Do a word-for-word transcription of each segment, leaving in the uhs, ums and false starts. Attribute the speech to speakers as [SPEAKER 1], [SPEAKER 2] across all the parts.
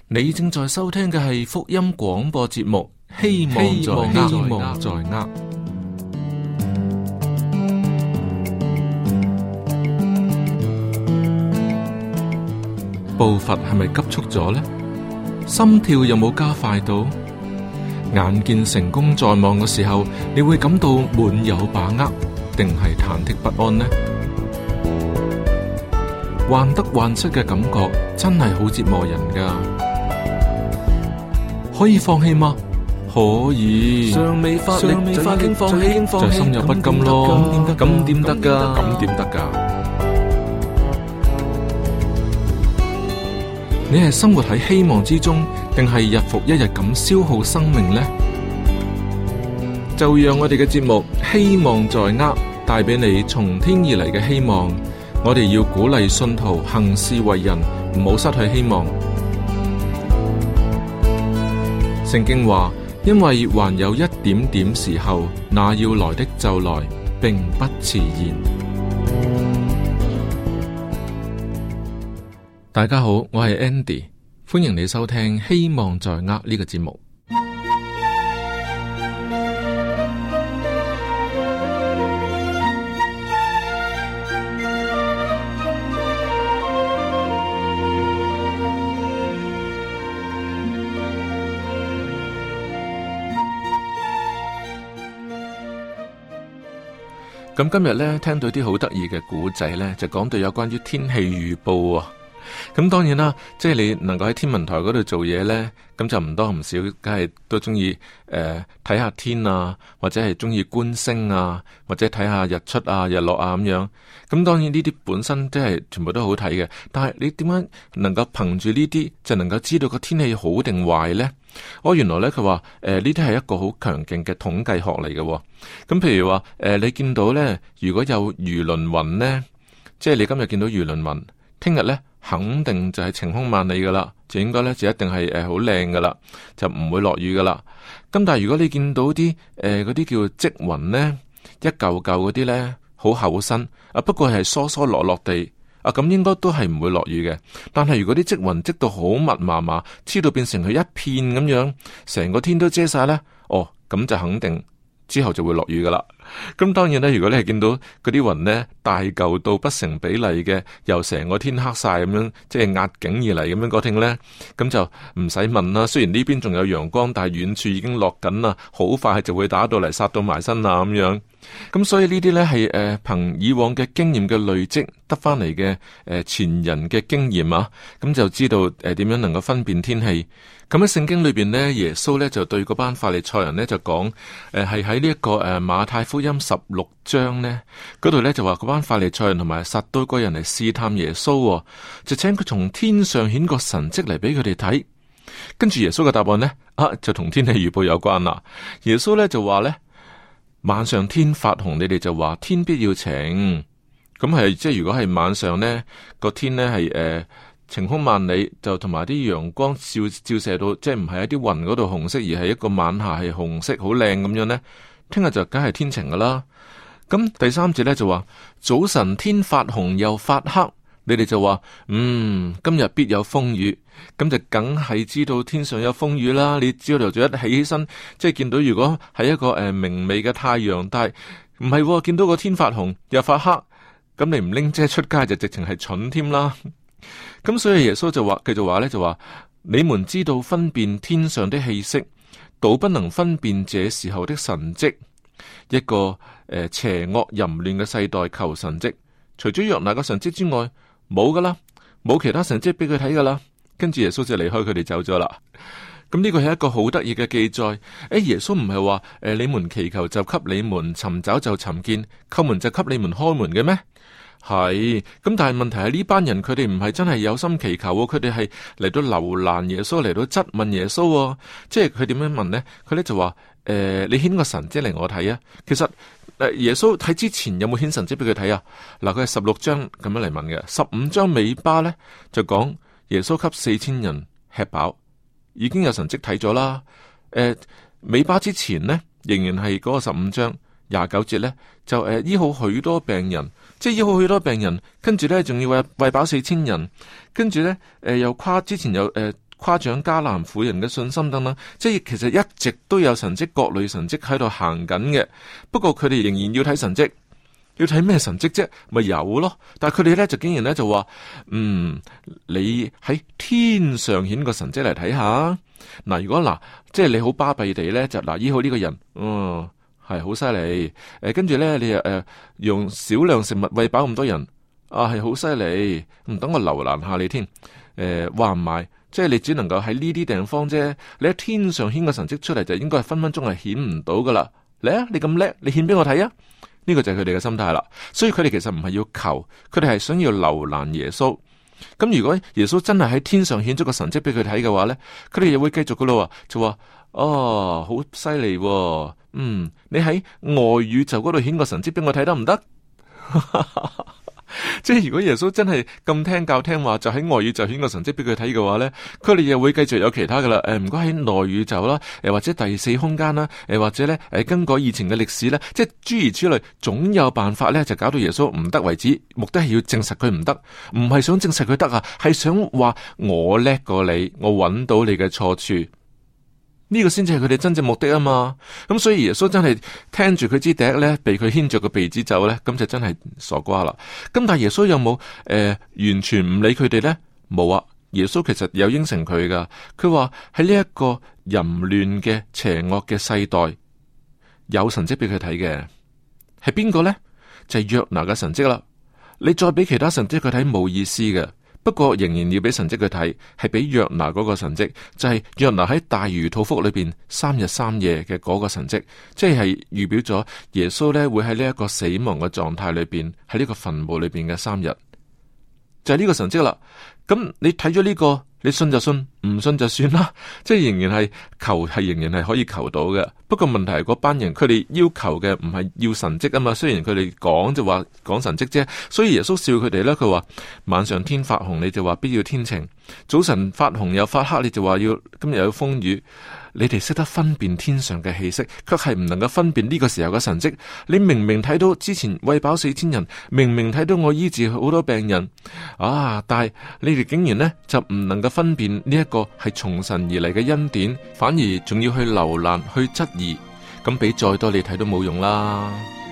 [SPEAKER 1] 你正在收聽嘅係福音廣播節目，希望在握，希望在握。步伐係咪急促咗呢？心跳有冇加快到？眼見成功在望嘅時候，你會感到滿有把握，定係忐忑不安呢？患得患失嘅感覺真係好折磨人噶。可以放棄嗎？可以。尚未發力，就已經放棄，就心有不甘咯。咁點得噶？咁點得噶？你係生活喺希望之中，定係日復一日咁消耗生命呢？就讓我哋嘅節目希望在握，帶俾你從天而嚟嘅希望。我哋要鼓勵信徒行事為人，唔好失去希望。聖經話，因為還有一點點時候，那要來的就來，並不遲延。大家好，我係 Andy， 歡迎你收聽希望在握呢個節目。咁今日咧聽到啲好得意嘅古仔咧，就講到有關於天氣預報啊。咁當然啦，即係你能夠喺天文台嗰度做嘢呢，咁就唔多唔少，梗係都中意誒睇下天啊，或者係中意觀星啊，或者睇下日出啊、日落啊咁樣。咁當然呢啲本身即係全部都好睇嘅，但係你點樣能夠憑住呢啲就能夠知道個天氣好定壞呢？哦，原來呢，佢話誒呢啲係一個好強勁嘅統計學嚟嘅。咁譬如話誒、呃、你見到呢，如果有魚鱗雲呢，即係你今日見到魚鱗雲，聽日呢，肯定就係晴空萬里噶啦，就應該咧就一定係誒好靚噶啦，就唔會落雨噶啦。咁但係如果你見到啲誒嗰啲叫積雲咧，一嚿嚿嗰啲咧好厚身啊，不過係疏疏落落地啊，咁應該都係唔會落雨嘅。但係如果啲積雲積到好密麻麻，黐到變成佢一片咁樣，成個天都遮晒咧，哦，咁就肯定之後就會落雨噶啦。咁當然咧，如果你係見到嗰啲雲呢，大嚿到不成比例嘅，又成個天黑晒咁樣，即係壓境而嚟咁樣嗰聽呢，咁就唔使問啦。雖然呢邊仲有陽光，但係遠處已經落緊啦，好快就會打到嚟，殺到埋身啦咁樣。咁所以呢啲呢係誒憑以往嘅經驗嘅累積得翻嚟嘅誒前人嘅經驗啊，咁就知道誒點樣能夠分辨天氣。咁喺聖經裏邊呢，耶穌呢就對嗰班法利賽人呢就講，誒係喺呢一個誒馬太福音十六章呢嗰度呢就話嗰班法利賽人同埋撒都該人嚟試探耶穌，就請佢從天上顯個神蹟嚟俾佢哋睇。跟住耶穌嘅答案呢，啊就同天氣預報有關啦。耶穌呢就話呢，晚上天發紅，你哋就話天必要晴。咁係即係如果係晚上呢個天呢係誒。呃晴空萬里，就同埋啲陽光照照射到，即係唔係喺啲雲嗰度紅色，而係一個晚霞係紅色，好靚咁樣呢。聽日就梗係天晴噶啦。咁第三節呢就話早晨天發紅又發黑，你哋就話嗯今日必有風雨，咁就梗係知道天上有風雨啦。你朝頭早一起起身，即係見到如果係一個誒、呃、明媚嘅太陽，但係唔係見到個天發紅又發黑，咁你唔拎遮出街就直情係蠢添啦。咁所以耶穌就話，繼續話咧就話，你們知道分辨天上的氣息，倒不能分辨這時候的神蹟。一個誒、呃、邪惡淫亂嘅世代求神蹟，除咗約拿嘅神蹟之外，冇噶啦，冇其他神蹟俾佢睇噶啦。跟住耶穌就離開佢哋走咗啦。咁呢個係一個好得意嘅記載。誒，耶穌唔係話誒，你們祈求就給你們，尋找就尋見，叩門就給你們開門嘅咩？係，咁但係問題係呢班人佢哋唔係真係有心祈求，佢哋係嚟到留難耶穌，嚟到質問耶穌，即係佢點樣問呢？佢咧就話：誒、呃，你顯個神蹟嚟我睇啊！其實誒，耶穌睇之前有冇顯神蹟俾佢睇啊？嗱，佢係十六章咁樣嚟問嘅，十五章尾巴咧就講耶穌給四千人吃飽，已經有神蹟睇咗啦。誒、呃，尾巴之前呢，仍然係嗰個十五章廿九節咧，就誒、呃、醫好許多病人。即係醫好許多病人，跟住咧仲要餵餵飽四千人，跟住咧誒又誇之前有誒誇獎迦南婦人嘅信心等等，即係其實一直都有神蹟，各類神蹟喺度行緊嘅。不過佢哋仍然要睇神蹟，要睇咩神蹟啫？咪有咯。但係佢哋咧就竟然咧就話，嗯，你喺天上顯個神蹟嚟睇下。嗱，如果嗱，即係你好巴閉地咧，就嗱醫好呢個人，嗯，係好犀利。誒，跟住咧你又誒、呃、用少量食物餵飽咁多人，啊，係好犀利。唔等我留難下你添。誒、呃，話唔埋，即係你只能夠喺呢啲地方啫。你喺天上顯個神蹟出嚟，就應該係分分鐘係顯唔到噶啦。嚟啊，你咁叻，你顯俾我睇啊！呢個就係佢哋嘅心態啦。所以佢哋其實唔係要求，佢哋係想要留難耶穌。咁如果耶穌真係喺天上顯咗個神蹟俾佢睇嘅話咧，佢哋又會繼續噶咯，就話哦，好犀利，嗯，你喺外宇宙嗰度顯個神蹟俾我睇得唔得？即係如果耶穌真係咁聽教聽話，就喺外宇宙顯個神蹟俾佢睇嘅話咧，佢哋又會繼續有其他噶啦。誒，唔該喺內宇宙啦，誒或者第四空間啦，誒或者咧誒更改以前嘅歷史咧，即係諸如此類，總有辦法咧就搞到耶穌唔得為止。目的係要證實佢唔得，唔係想證實佢得啊，係想話我叻過你，我揾到你嘅錯處。呢個先至係佢哋真正目的啊嘛，咁所以耶穌真係聽住佢支笛咧，被佢牽着個鼻子走咧，咁就真係傻瓜啦。咁但係耶穌有冇誒、呃、完全唔理佢哋咧？冇啊，耶穌其實有應承佢噶，佢話喺呢一個淫亂嘅邪惡嘅世代，有神蹟俾佢睇嘅，係邊個咧？就係、是、約拿嘅神蹟啦。你再俾其他神蹟佢睇冇意思嘅。不過仍然要俾神蹟佢睇，係俾約拿嗰個神蹟，就係、是、約拿喺大魚肚腹裏邊三日三夜嘅嗰個神蹟，即係預表咗耶穌咧會喺呢一個死亡嘅狀態裏邊，喺呢個墳墓裏邊嘅三日，就係、是、呢個神蹟啦。咁你睇咗呢個，你信就信，唔信就算啦。即係仍然係求，係仍然係可以求到嘅。不過問題係嗰班人，佢哋要求嘅唔係要神蹟啊嘛。雖然佢哋講就話講神蹟啫，所以耶穌笑佢哋咧。佢話晚上天發紅，你就話必要天晴；早晨發紅又發黑，你就話要今日有風雨。你哋識得分辨天上嘅氣息，卻係唔能夠分辨呢個時候嘅神蹟。你明明睇到之前餵飽四千人，明明睇到我醫治好多病人啊，但係你哋竟然呢就唔能夠分辨呢一個係從神而嚟嘅恩典，反而仲要去留難去質疑，咁俾再多你睇都冇用啦。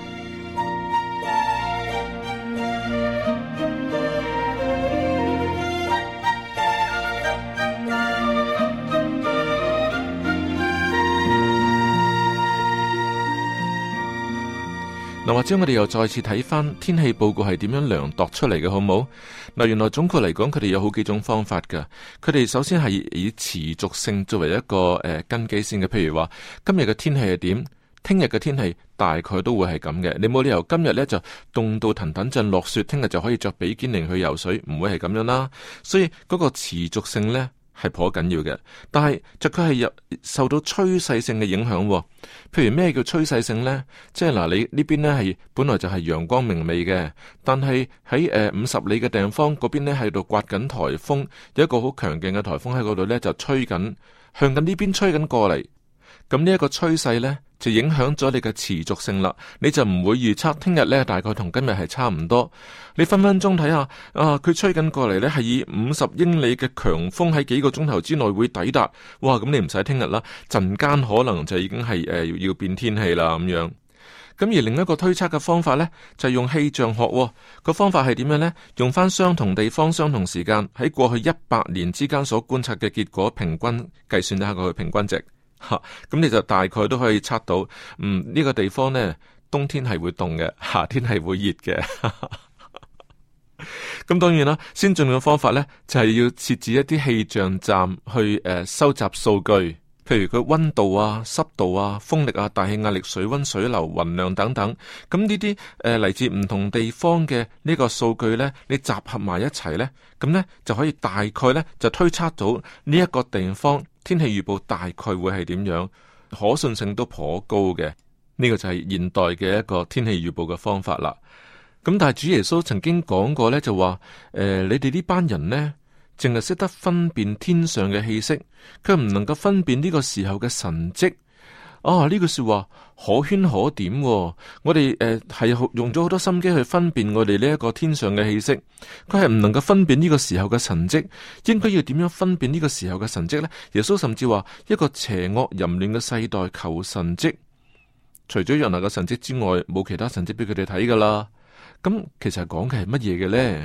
[SPEAKER 1] 嗱，或者我哋又再次睇翻天氣報告係點樣量度出嚟嘅，好唔好？嗱，原來總括嚟講，佢哋有好幾種方法噶。佢哋首先係以持續性作為一個誒、呃、根基先嘅。譬如話今日嘅天氣係點，聽日嘅天氣大概都會係咁嘅。你冇理由今日呢就凍到騰騰震落雪，聽日就可以着比堅尼去游水，唔會係咁樣啦。所以嗰個持續性呢係頗緊要嘅，但係就佢係有受到趨勢性嘅影響。譬如咩叫趨勢性呢？即係嗱，你呢邊呢係本來就係陽光明媚嘅，但係喺誒五十里嘅地方嗰邊呢喺度颳緊颱風，有一個好強勁嘅颱風喺嗰度呢就吹緊，向緊呢邊吹緊過嚟。咁呢一個趨勢呢，就影響咗你嘅持續性啦。你就唔會預測聽日呢大概同今日係差唔多。你分分鐘睇下啊，佢吹緊過嚟呢係以五十英里嘅強風喺幾個鐘頭之內會抵達。哇！咁你唔使聽日啦，陣間可能就已經係誒、呃、要變天氣啦咁樣。咁而另一個推測嘅方法呢，就係、用氣象學、哦、個方法係點樣呢？用翻相同地方、相同時間喺過去一百年之間所觀察嘅結果，平均計算一下個平均值。吓，咁你就大概都可以測到，嗯，呢、這個地方呢，冬天係會凍嘅，夏天係會熱嘅。咁當然啦，先進嘅方法呢，就係、是、要設置一啲氣象站去誒、呃、收集數據，譬如佢溫度啊、濕度啊、風力啊、大氣壓力、水溫、水流、雲量等等。咁呢啲誒嚟自唔同地方嘅呢個數據呢，你集合埋一齊呢，咁呢就可以大概呢，就推測到呢一個地方天氣預報大概會係點樣，可信性都頗高嘅。呢、這個就係現代嘅一個天氣預報嘅方法啦。咁但係主耶穌曾經講過呢，就話誒、呃，你哋呢班人呢，淨係識得分辨天上嘅氣息，佢唔能夠分辨呢個時候嘅神蹟。 啊，呢句說話可圈可點喎。我哋誒係用咗好多心機去分辨我哋呢一個天上嘅氣息，佢係唔能夠分辨呢個時候嘅神蹟。應該要點樣分辨呢個時候嘅神蹟呢？耶穌甚至話一個邪惡淫亂嘅世代求神蹟，除咗約拿嘅神蹟之外，冇其他神蹟俾佢哋睇噶啦。咁其實講嘅係乜嘢嘅呢？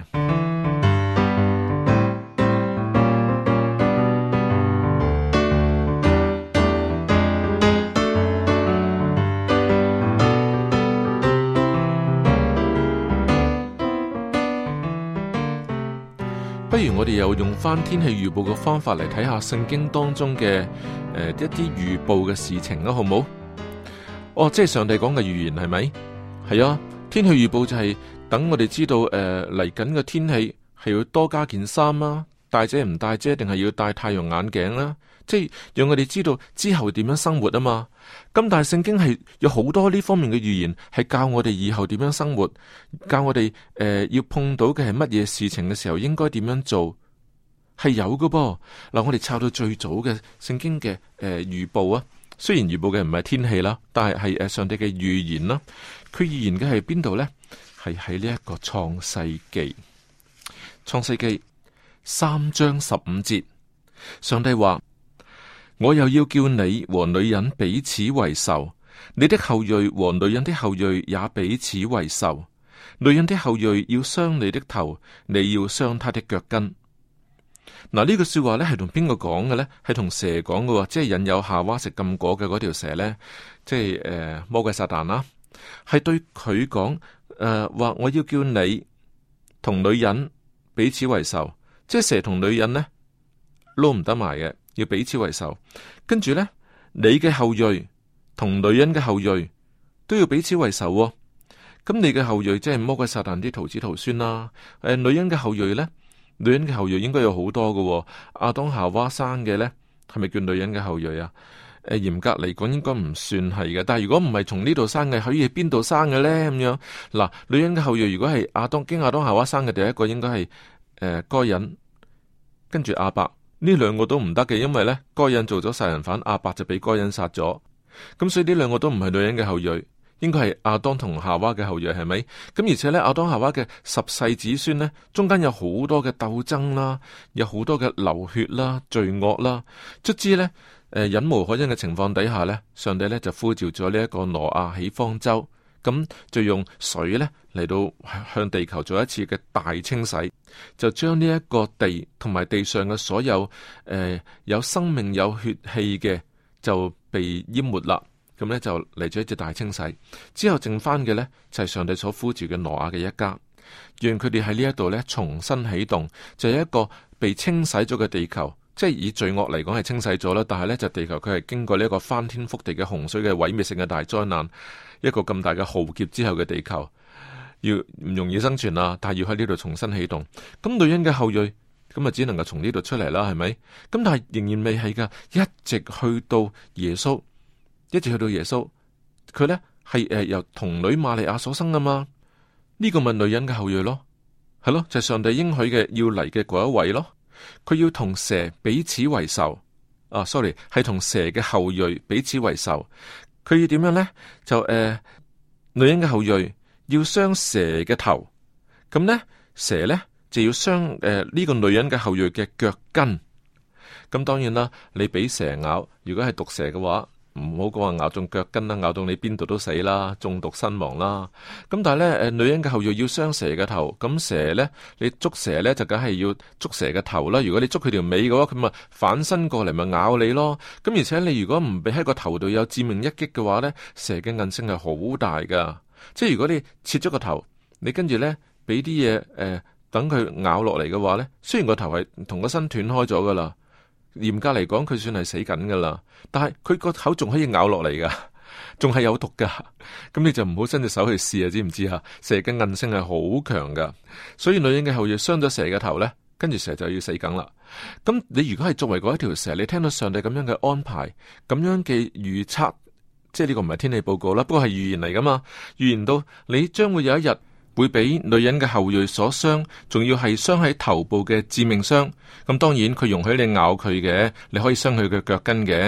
[SPEAKER 1] 不如我哋又用翻天氣預報嘅方法嚟睇下聖經當中嘅誒、呃、一啲預報嘅事情啦，好唔好？哦，即係上帝講嘅預言係咪？係啊，天氣預報就係等我哋知道誒嚟緊嘅天氣係要多加件衫啦，帶遮唔帶遮，定係要戴太陽眼鏡啦？即係讓我哋知道之後點樣生活啊嘛。咁但係聖經係有好多呢方面嘅預言，係教我哋以後點樣生活，教我哋誒、呃、要碰到嘅係乜嘢事情嘅時候應該點樣做，係有噶噃。嗱，我哋抄到最早嘅聖經嘅誒預報啊，雖然預報嘅唔係天氣啦，但係係誒上帝嘅預言啦。佢預言嘅係邊度呢？係喺呢一個創世記，創世記三章十五節，上帝話：我又要叫你和女人彼此為仇，你的後裔和女人的後裔也彼此為仇。女人的後裔要傷你的頭，你要傷她的腳跟。嗱，呢句說話咧係同邊個講嘅呢？係同蛇講嘅，即係引誘夏娃食禁果嘅嗰條蛇呢，即係誒、呃、魔鬼撒旦啦，係對佢講誒話我要叫你同女人彼此為仇，即係蛇同女人呢撈唔得埋嘅。要彼此為仇，跟住呢，你嘅後裔同女人嘅後裔都要彼此為仇，哦。咁你嘅後裔即係魔鬼撒旦啲徒子徒孫啦。誒、呃，女人嘅後裔呢？女人嘅後裔應該有好多嘅，哦。亞當夏娃生嘅呢，係咪叫女人嘅後裔啊？誒、呃，嚴格嚟講應該唔算係嘅。但係如果唔係從呢度生嘅，可以喺邊度生嘅呢？咁樣嗱，女人嘅後裔如果係亞當經亞當夏娃生嘅，第一個應該係誒該隱，跟住亞伯。呢兩個都唔得嘅，因為呢，該隱做咗殺人犯，亞伯就俾該隱殺咗，咁所以呢兩個都唔係女人嘅後裔，應該係亞當同夏娃嘅後裔，係咪？咁而且呢，亞當夏娃嘅十世子孫呢，中間有好多嘅鬥爭啦，有好多嘅流血啦、罪惡啦，卒之呢，誒、呃、忍無可忍嘅情況底下呢，上帝呢就呼召咗呢一個挪亞起方舟。咁就用水咧嚟到向地球做一次嘅大清洗，就將呢一個地同埋地上嘅所有誒、呃、有生命有血氣嘅就被淹沒啦。咁咧就嚟咗一次大清洗，之後剩翻嘅咧就係、是、上帝所呼召嘅挪亞嘅一家，讓佢哋喺呢一度咧重新啟動，就係一個被清洗咗嘅地球。即係以罪惡嚟講係清洗咗啦，但係咧就地球佢係經過呢一個翻天覆地嘅洪水嘅毀滅性嘅大災難，一個咁大嘅浩劫之後嘅地球，要唔容易生存啊！但係要喺呢度重新啟動。咁女人嘅後裔咁啊，只能夠從呢度出嚟啦，係咪？咁但係仍然未係噶，一直去到耶穌，一直去到耶穌，佢咧係誒由童女瑪利亞所生噶嘛？呢、這個咪女人嘅後裔咯，係咯，就係、是、上帝應許嘅要嚟嘅嗰一位咯。佢要同蛇彼此為仇，啊，sorry， 係同蛇嘅後裔彼此為仇。佢要點樣呢？就誒、呃，女人嘅後裔要傷蛇嘅頭，咁呢，蛇呢就要傷誒呢個女人嘅後裔嘅腳跟。咁當然啦，你俾蛇咬，如果係毒蛇嘅話，唔好講話咬中腳跟啦，咬到你邊度都死啦，中毒身亡啦。咁但係咧，誒，女人嘅後裔要傷蛇嘅頭，咁蛇咧，你捉蛇咧就梗係要捉蛇嘅頭啦。如果你捉佢條尾嘅話，佢咪反身過嚟咪咬你咯。咁而且你如果唔俾喺個頭度有致命一擊嘅話咧，蛇嘅韌性係好大噶。即係如果你切咗個頭，你跟住咧俾啲嘢誒等佢咬落嚟嘅話咧，雖然個頭係同個身斷開咗噶啦。嚴格嚟講，佢算係死緊噶啦，但係佢個口仲可以咬落嚟噶，仲係有毒噶，咁你就唔好伸隻手去試啊，知唔知啊？蛇嘅韌性係好強噶，所以女人嘅後裔傷咗蛇嘅頭咧，跟住蛇就要死梗啦。咁你如果係作為嗰一條蛇，你聽到上帝咁樣嘅安排，咁樣嘅預測，即係呢個唔係天氣報告啦，不過係預言嚟噶嘛，預言到你將會有一日。會俾女人嘅後裔所傷，仲要係傷喺頭部嘅致命傷。咁當然佢容許你咬佢嘅，你可以傷佢嘅腳跟嘅。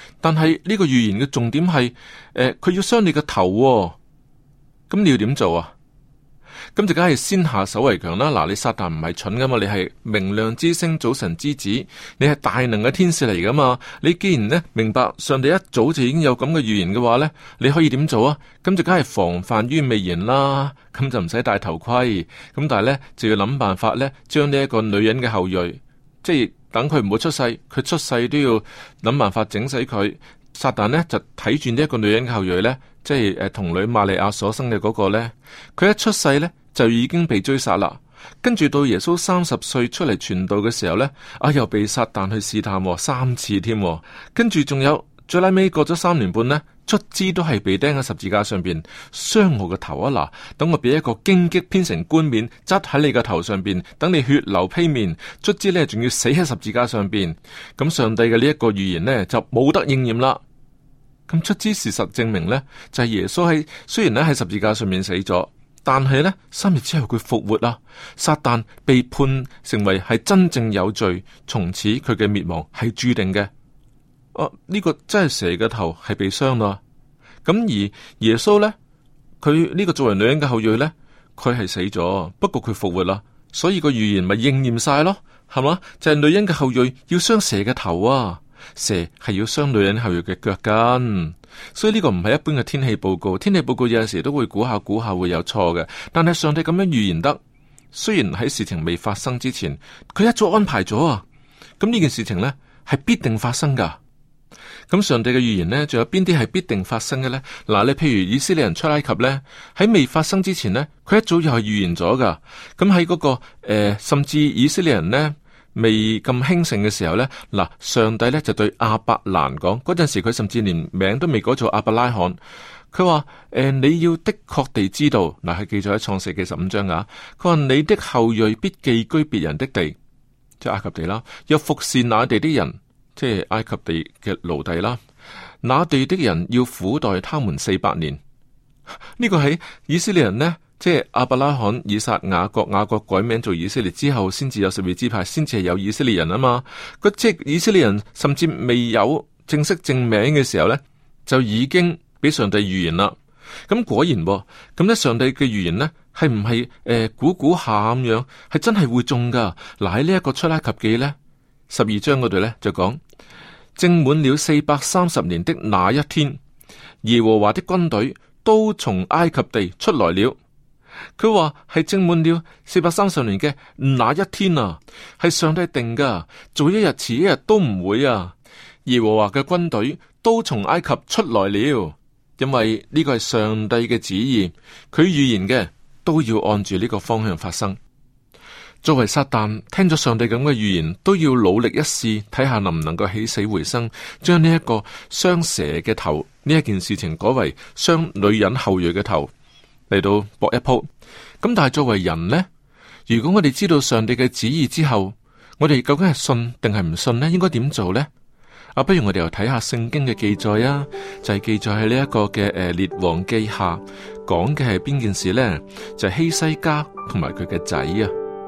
[SPEAKER 1] 但係呢個預言嘅重點係，誒、呃，佢要傷你個頭喎，咁你要點做啊？咁就梗係先下手為強啦。嗱，你撒旦唔係蠢噶嘛，你係明亮之星、早晨之子，你係大能嘅天使嚟噶嘛。你既然呢明白上帝一早就已經有咁嘅預言嘅話呢，你可以點做啊？咁就梗係防範於未然啦。咁就唔使戴頭盔。咁但係呢，就要諗辦法呢，將呢一個女人嘅後裔，即係等佢唔好出世，佢出世都要諗辦法整死佢。撒旦呢，就睇住呢一個女人嘅後裔呢，即係誒童女瑪利亞所生嘅嗰個呢，佢一出世呢，就已經被追殺啦。跟住到耶穌三十歲出嚟傳道嘅時候呢，啊又被撒旦去試探、哦、三次添。跟住仲有最拉尾過咗三年半呢，卒之都係被釘喺十字架上邊，傷我個頭啊！嗱，等我俾一個荊棘編成冠冕，執喺你個頭上邊，等你血流披面，卒之呢，仲要死喺十字架上邊。咁上帝嘅呢一個預言呢，就冇得應驗啦。咁卒之事實證明呢，就係、是、耶穌喺雖然咧喺十字架上面死咗，但係呢，三日之後佢復活啦。撒旦被判成為係真正有罪，從此佢嘅滅亡係注定嘅。哦、啊，呢、這個真係蛇嘅頭係被傷啦。咁而耶穌呢，佢呢個作為女人嘅後裔呢，佢係死咗，不過佢復活啦，所以個預言咪應驗晒咯，係嘛？就係、是、女人嘅後裔要傷蛇嘅頭啊。蛇係要傷女人後裔嘅腳跟，所以呢個唔係一般嘅天氣報告。天氣報告有陣時都會估下估下會有錯嘅，但係上帝咁樣預言得，雖然喺事情未發生之前，佢一早安排咗啊。咁呢件事情呢，係必定發生噶。咁上帝嘅預言呢，仲有邊啲係必定發生嘅呢？嗱，你譬如以色列人出埃及呢，喺未發生之前呢，佢一早又係預言咗噶。咁喺嗰個誒、呃，甚至以色列人呢，未咁興盛嘅時候呢，嗱，上帝呢就對亞伯蘭講，嗰陣時佢甚至連名都未改做亞伯拉罕，佢話誒，你要的確地知道，嗱，係記載喺創世記十五章啊，佢話你的後裔必寄居別人的地，即係埃及地啦，又服侍那地的人，即係埃及地嘅奴隸啦，那地的人要苦待他們四百年。呢個係以色列人呢，即係亞伯拉罕、以撒、雅各，雅各改名做以色列之後，先至有十二支派，先至係有以色列人啊嘛。佢即係以色列人，甚至未有正式正名嘅時候呢，就已經俾上帝預言啦。咁果然，咁咧上帝嘅預言呢，係唔係誒估估下咁樣，係真係會中噶。嗱，喺呢一個出埃及記呢，十二章嗰度呢，就講，正滿了四百三十年的那一天，耶和華的軍隊都從埃及地出來了。佢話係正滿了四百三十年嘅那一天啊，係上帝定噶，早一日遲一日都唔會啊。耶和華嘅軍隊都從埃及出來了，因為呢個係上帝嘅旨意，佢預言嘅都要按住呢個方向發生。作為撒旦，聽咗上帝咁嘅預言，都要努力一試，睇下能唔能夠起死回生，將呢一個傷蛇嘅頭呢一件事情改為傷女人後裔嘅頭，嚟到搏一鋪。咁但係作為人呢，如果我哋知道上帝嘅旨意之後，我哋究竟係信定係唔信呢？應該點做呢？啊，不如我哋又睇下聖經嘅記載啊，就係、是、記載喺呢一個嘅誒列王記下，講嘅係邊件事呢？就係、是、希西家同埋佢嘅仔啊。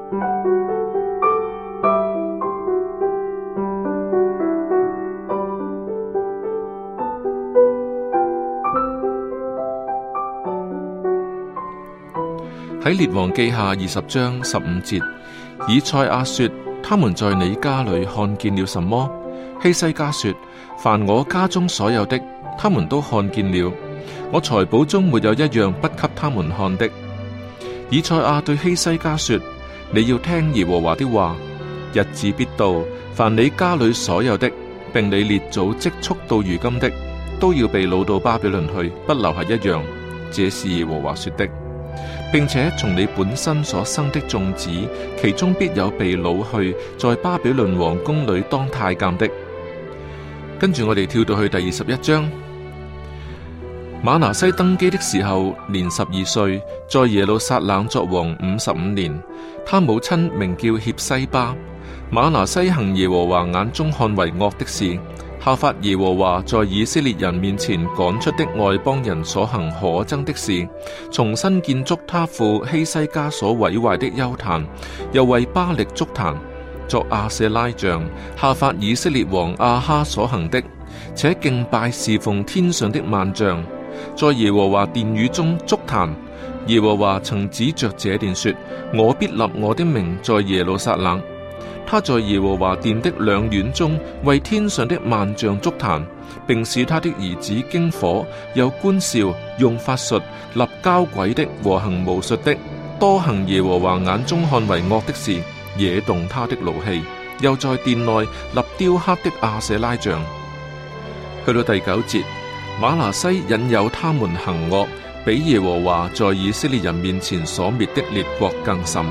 [SPEAKER 1] 喺列王記下二十章十五節，以賽亞說：他們在你家裏看見了什麼？希西家說：凡我家中所有的，他們都看見了。我財寶中沒有一樣不給他們看的。以賽亞對希西家說：你要聽耶和華的話，日子必到，凡你家裏所有的，並你列祖積蓄到如今的，都要被擄到巴比倫去，不留下一樣。這是耶和華說的。並且從你本身所生的眾子，其中必有被擄去，在巴比倫王宮裏當太監的。跟住我哋跳到去第二十一章。馬拿西登基的時候，年十二歲，在耶路撒冷作王五十五年。他母親名叫協西巴。馬拿西行耶和華眼中看為惡的事，效法耶和華在以色列人面前趕出的外邦人所行可憎的事，重新建築他父希西家所毀壞的邱壇，又為巴力築壇，作亞舍拉像，效法以色列王亞哈所行的， 且敬拜侍奉天上的萬象，在耶和華殿宇中築壇。耶和華曾指着這殿說：我必立我的名在耶路撒冷。他在耶和華殿的兩院中為天上的萬象築壇，並使他的兒子經火，有觀兆，用法術，立交鬼的和行巫術的，多行耶和華眼中看為惡的事，惹動他的怒氣。又在殿內立雕刻的亞舍拉像。去到第九節，瑪拿西引誘他們行惡，比耶和華在以色列人面前所滅的列國更甚。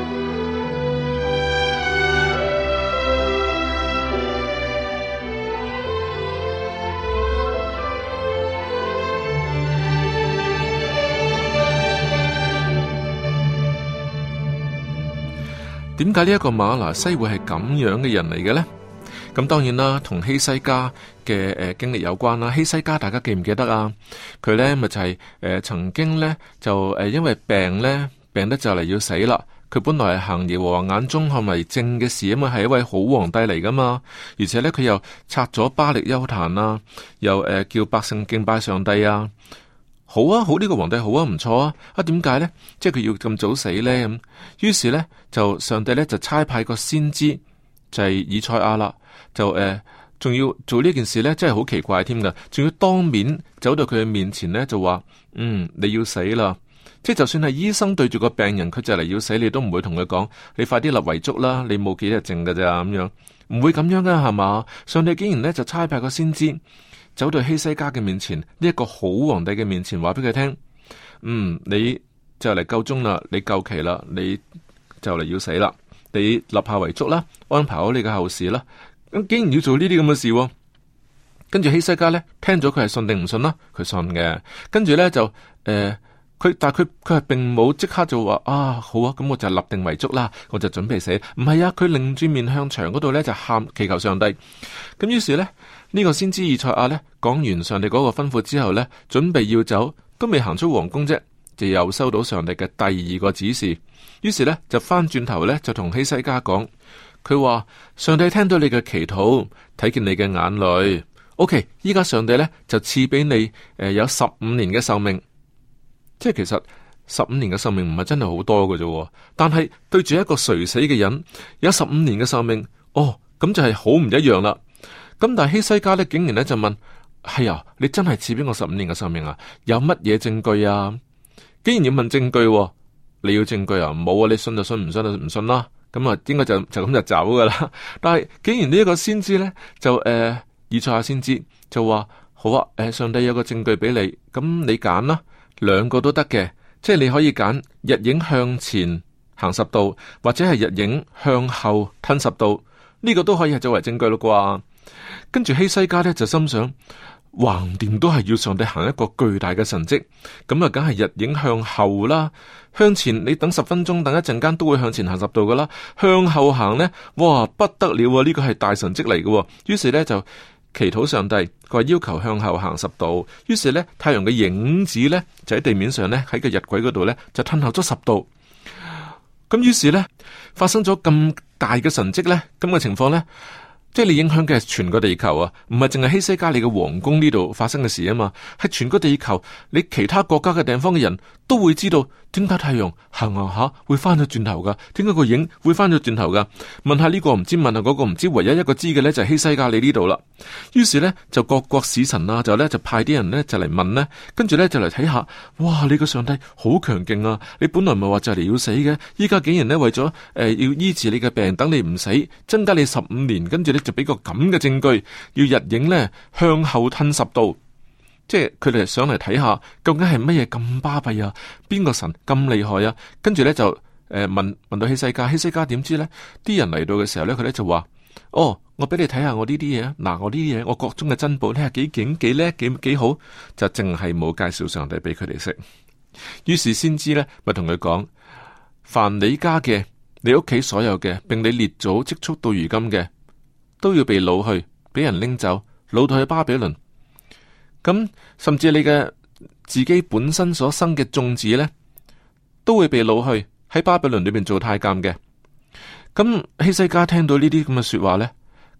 [SPEAKER 1] 點解呢一個瑪拿西會係咁樣嘅人嚟嘅呢？咁當然啦，同希西家嘅誒、呃、經歷有關啦。希西家大家記唔記得啊？佢呢咪就係、是、誒、呃、曾經呢，就誒、呃、因為病呢，病得就嚟要死啦。佢本來係行耶和華眼中看為正嘅事啊嘛，係一位好皇帝嚟噶嘛。而且呢，佢又拆咗巴力邱壇啊，又誒、呃、叫百姓敬拜上帝啊。好啊，好呢、這個皇帝好啊，唔錯啊。啊，點解呢？即係佢要咁早死呢？咁於是呢，就上帝呢，就差派個先知就係、是、以賽亞啦，就誒仲、呃、要做呢件事呢，真係好奇怪添噶，仲要當面走到佢嘅面前呢，就話嗯你要死啦。即係就算係醫生對住個病人，佢就嚟要死，你都唔會同佢講你快啲立遺囑啦，你冇幾日剩噶咋咁樣，唔會咁樣噶係嘛？上帝竟然呢，就差派個先知。走到希西家嘅面前，呢、這、一個好皇帝嘅面前，話俾佢聽：嗯，你就嚟夠鐘啦，你夠期啦，你就嚟要死啦，你立下遺囑啦，安排好你嘅後事啦。咁竟然要做呢啲咁嘅事，跟住希西家咧聽咗佢係信定唔信啦？佢信嘅，跟住咧就誒，佢、呃、但係佢佢係並冇即刻就話啊好啊，咁我就立定遺囑啦，我就準備死。唔係啊，佢擰住面向牆嗰度咧就喊祈求上帝。咁於是咧。呢個先知以賽亞呢，講完上帝嗰個吩咐之後呢，準備要走，都未行出皇宮啫，就又收到上帝嘅第二個指示。於是呢，就翻轉頭呢，就同希西家講，佢話上帝聽到你嘅祈禱，睇見你嘅眼淚。OK， 依家上帝呢，就賜俾你誒、呃、有十五年嘅壽命。即係其實十五年嘅壽命唔係真係好多嘅啫，但係對住一個垂死嘅人有十五年嘅壽命，哦，咁就係好唔一樣啦。咁但係希西家咧，竟然咧就問：係啊，你真係賜俾我十五年嘅壽命啊？有乜嘢證據啊？竟然要問證據、啊，你要證據啊？冇啊！你信就信，唔信就唔信啦。咁啊，應該就就咁就走噶啦。但係竟然呢一個先知咧，就誒、呃，以賽亞先知就話：好啊，誒、呃，上帝有個證據俾你，咁你揀啦，兩個都得嘅，即係你可以揀日影向前行十度，或者係日影向後吞十度，呢、這個都可以係作為證據咯啩。跟住希西家咧就心想，橫掂都係要上帝行一個巨大嘅神蹟，咁啊梗係日影向後啦，向前你等十分鐘，等一陣間都會向前行十度噶啦，向後行呢，哇不得了啊！呢個係大神蹟嚟嘅，於是呢，就祈禱上帝，佢話要求向後行十度，於是呢，太陽嘅影子呢，就喺地面上呢，喺個日晷嗰度呢，就褪後咗十度，咁於是呢，發生咗咁大嘅神蹟呢，咁嘅情況呢。即係你影響嘅係全個地球啊，唔係淨係希西家你嘅皇宮呢度發生嘅事啊嘛，係全個地球，你其他國家嘅地方嘅人都會知道點解太陽行行下會翻咗轉頭噶，點解個影會翻咗轉頭噶？問下呢個唔知，問下嗰個唔知，唯一一個知嘅咧就係希西家你呢度啦。於是咧就各國使臣啊，就咧就派啲人咧就嚟問咧，跟住咧就嚟睇下，哇！你個上帝好強勁啊！你本來唔係話就嚟要死嘅，依家竟然咧為咗誒、呃、要醫治你嘅病，等你唔死，增加你十五年，跟住咧就俾個咁嘅證據，要日影咧向後吞十度。即係佢哋上嚟睇下，究竟係乜嘢咁巴閉啊？邊個神咁厲害啊？跟住咧就誒、呃、問問到希西家，希西家點知咧？啲人嚟到嘅時候咧，佢咧就話：哦，我俾你睇下我呢啲嘢，嗱，我呢啲嘢，我國中嘅珍寶，你係幾勁幾叻幾幾好，就淨係冇介紹上帝俾佢哋識。於是先知咧，咪同佢講：凡你家嘅，你屋企所有嘅，並你列祖積蓄到如今嘅，都要被擄去，俾人拎走，擄到去巴比倫。咁甚至你嘅自己本身所生嘅種子呢，都會被擄去喺巴比倫裏邊做太監嘅。咁希西家聽到呢啲咁嘅說話呢，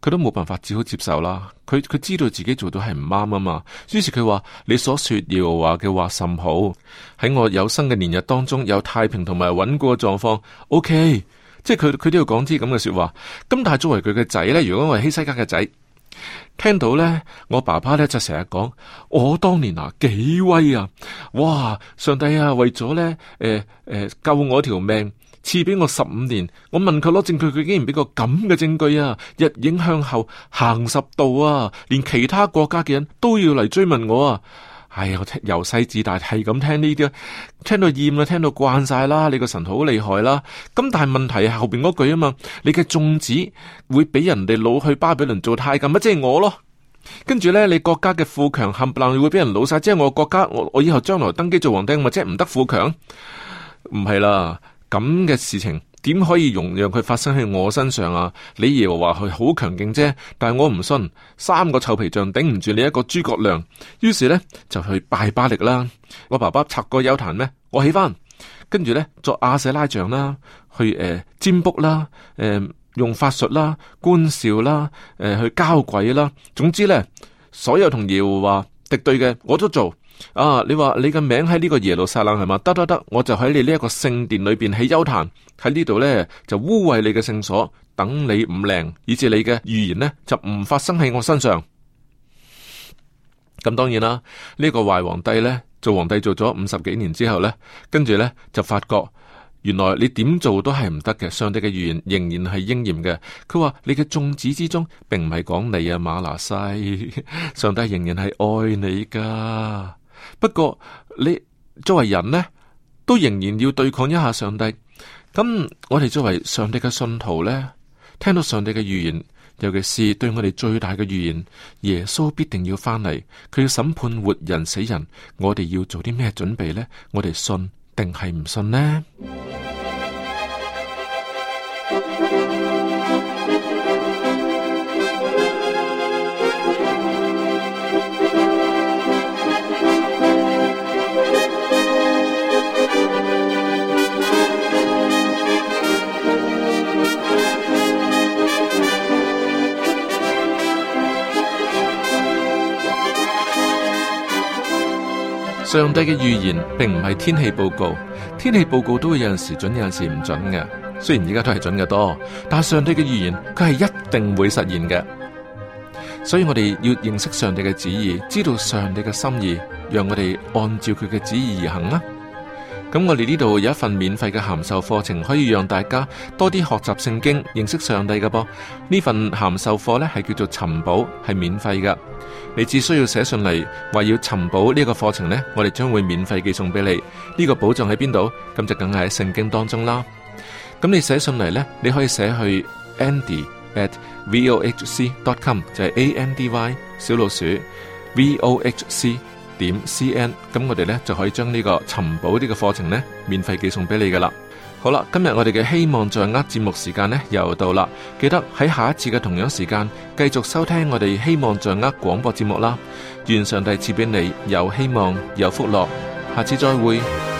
[SPEAKER 1] 佢都冇辦法，只好接受啦。佢佢知道自己做到係唔啱啊嘛，於是佢話：你所說耶和華嘅話甚好，喺我有生嘅年日當中有太平同埋穩固嘅狀況。O K， 即係佢佢都要講啲咁嘅說話。咁但係作為佢嘅仔咧，如果我係希西家嘅仔，聽到咧，我爸爸咧就成日講：我當年啊幾威啊！哇，上帝啊，為咗咧誒誒救我條命，賜俾我十五年。我問佢攞證據，佢竟然俾個咁嘅證據啊！日影向後行十度啊，連其他國家嘅人都要嚟追問我啊！哎呀，我聽由細至大係咁聽呢啲，聽到厭啦，聽到慣晒啦。你個神好厲害啦，咁但係問題係後邊嗰句啊嘛，你嘅眾子會俾人哋擄去巴比倫做太監，咪即係我咯。跟住咧，你國家嘅富強冚唪唥會俾人擄晒，即係我國家，我我以後將來登基做皇帝，咪即係唔得富強？唔係啦，咁嘅事情點可以容讓佢發生喺我身上啊？你耶和華佢好強勁啫，但係我唔信，三個臭皮匠頂唔住你一個諸葛亮，於是咧就去拜巴力啦。我爸爸拆過丘壇咩？我起翻，跟住咧作亞舍拉像啦，去誒、呃、占卜啦，誒、呃、用法術啦、觀兆啦，誒、呃、去交鬼啦，總之咧所有同耶和華敵對嘅我都做。啊！你話你嘅名喺呢個耶路撒冷係嘛？得得得，我就喺你呢一個聖殿裏邊起丘壇，喺呢度咧就污穢你嘅聖所，等你唔靈，以致你嘅預言呢就唔發生喺我身上。咁當然啦，呢、這個壞皇帝咧做皇帝做咗五十幾年之後咧，跟住咧就發覺原來你點做都係唔得嘅，上帝嘅預言仍然係應驗嘅。佢話你嘅眾子之中，並唔係講你啊馬拿西，上帝仍然係愛你噶。不過你作為人呢，都仍然要對抗一下上帝。咁我哋作為上帝嘅信徒呢，聽到上帝嘅預言，尤其是對我哋最大嘅預言，耶穌必定要翻嚟，佢要審判活人死人，我哋要做啲咩準備呢？我哋信定係唔信呢？上帝嘅預言並唔係天氣報告，天氣報告都會有陣時準，有陣時唔準嘅。雖然而家都係準嘅多，但係上帝嘅預言佢係一定會實現嘅。所以我哋要認識上帝嘅旨意，知道上帝嘅心意，讓我哋按照佢嘅旨意而行啦。咁我哋呢度有一份免費嘅函授課程，可以讓大家多啲學習聖經，認識上帝嘅噃。呢份函授課呢係叫做尋寶，係免費噶。你只需要寫信嚟，話要尋寶呢個課程呢，我哋將會免費寄送俾你。呢個寶藏喺邊度？咁就梗係喺聖經當中啦。咁你寫信嚟呢，你可以寫去 Andy at vohc dot com， 就係 A N D Y 小老鼠 V O H C 點 C N。咁我哋呢就可以將呢個尋寶呢個課程呢免費寄送俾你噶啦。好啦，今日我哋嘅希望在握節目時間呢又到啦，記得喺下一次嘅同樣時間繼續收聽我哋希望在握廣播節目啦。願上帝賜俾你有希望有福樂，下次再會。